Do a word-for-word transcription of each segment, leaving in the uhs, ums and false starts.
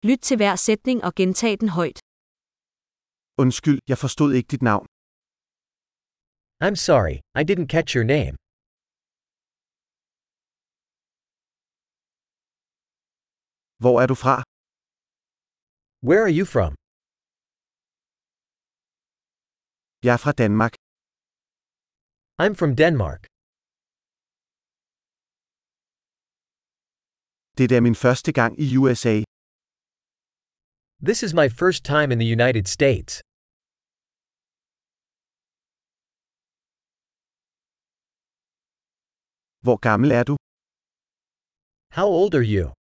Lyt til hver sætning og gentag den højt. Undskyld, jeg forstod ikke dit navn. I'm sorry, I didn't catch your name. Hvor er du fra? Where are you from? Jeg er fra Danmark. I'm from Denmark. Det er min første gang i U S A. This is my first time in the United States. Hvor gammel er du? How old are you?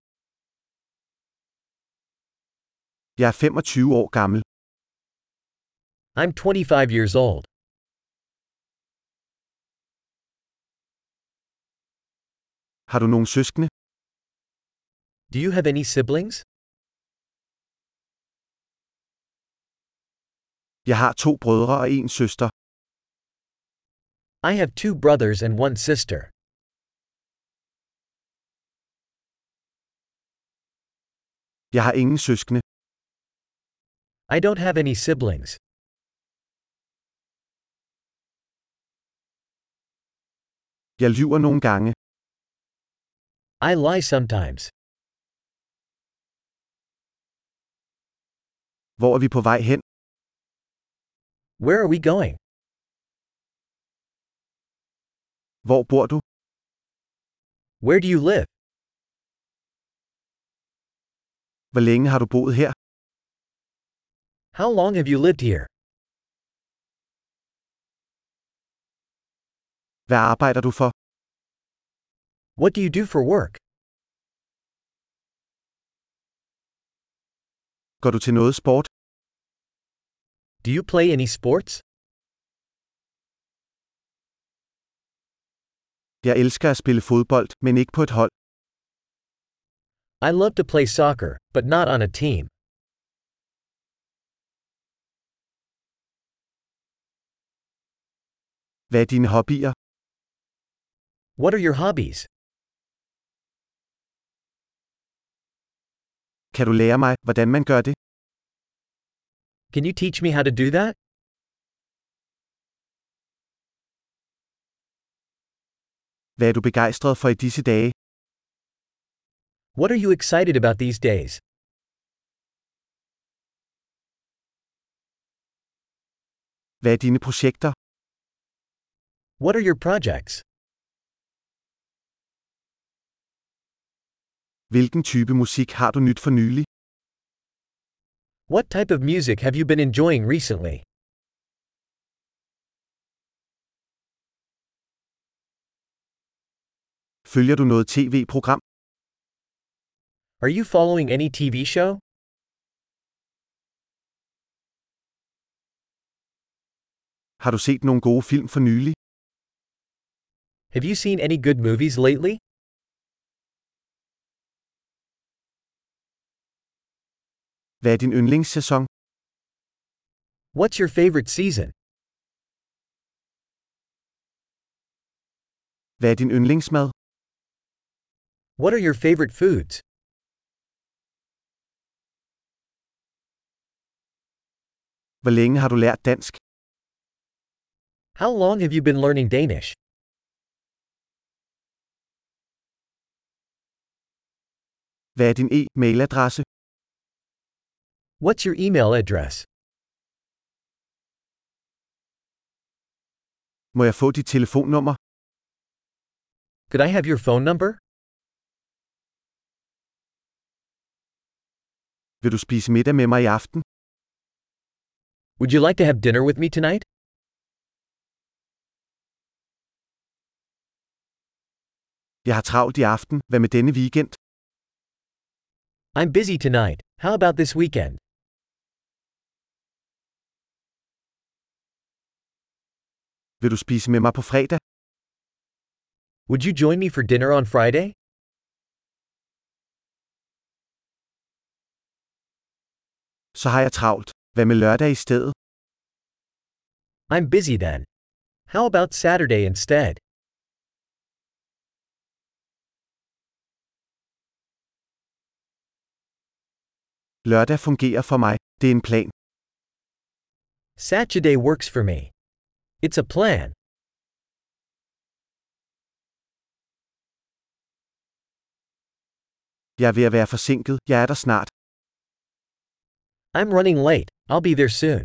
Jeg er femogtyve år gammel. I'm twenty-five years old. Har du nogen søskende? Do you have any siblings? Jeg har to brødre og en søster. I have two brothers and one sister. Jeg har ingen søskende. I don't have any siblings. Jeg lyver nogle gange. I lie sometimes. Hvor er vi på vej hen? Where are we going? Hvor bor du? Where do you live? Hvor længe har du boet her? How long have you lived here? Hvad arbejder du for? What do you do for work? Går du til noget sport? Do you play any sports? Jeg elsker at spille fodbold, men ikke på et hold. I love to play soccer, but not on a team. Hvad er dine hobbyer? What are your hobbies? Kan du lære mig, hvordan man gør det? Can you teach me how to do that? Hvad er du begejstret for i disse dage? What are you excited about these days? Hvad er dine projekter? What are your projects? Hvilken type musik har du nyt for nylig? What type of music have you been enjoying recently? Følger du noget tv-program? Are you following any T V show? Har du set nogle gode film for nylig? Have you seen any good movies lately? Hvad er din yndlingssæson? What's your favorite season? Hvad er din yndlingsmad? What are your favorite foods? Hvor længe har du lært dansk? How long have you been learning Danish? Hvad er din e-mailadresse? What's your email address? Må jeg få dit telefonnummer? Could I have your phone number? Vil du spise middag med mig i aften? Would you like to have dinner with me tonight? Jeg har travlt i aften. Hvad med denne weekend? I'm busy tonight. How about this weekend? Vil du spise med mig på fredag? Would you join me for dinner on Friday? Så har jeg travlt. Hvad med lørdag i stedet? I'm busy then. How about Saturday instead? Lørdag fungerer for mig. Det er en plan. Saturday works for me. It's a plan. Jeg er ved at være forsinket. Jeg er der snart. I'm running late. I'll be there soon.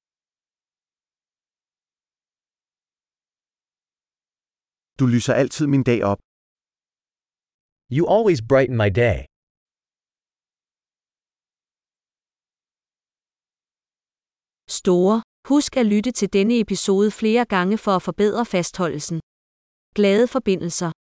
Du lyser altid min dag op. You always brighten my day. Store. Husk at lytte til denne episode flere gange for at forbedre fastholdelsen. Glade forbindelser.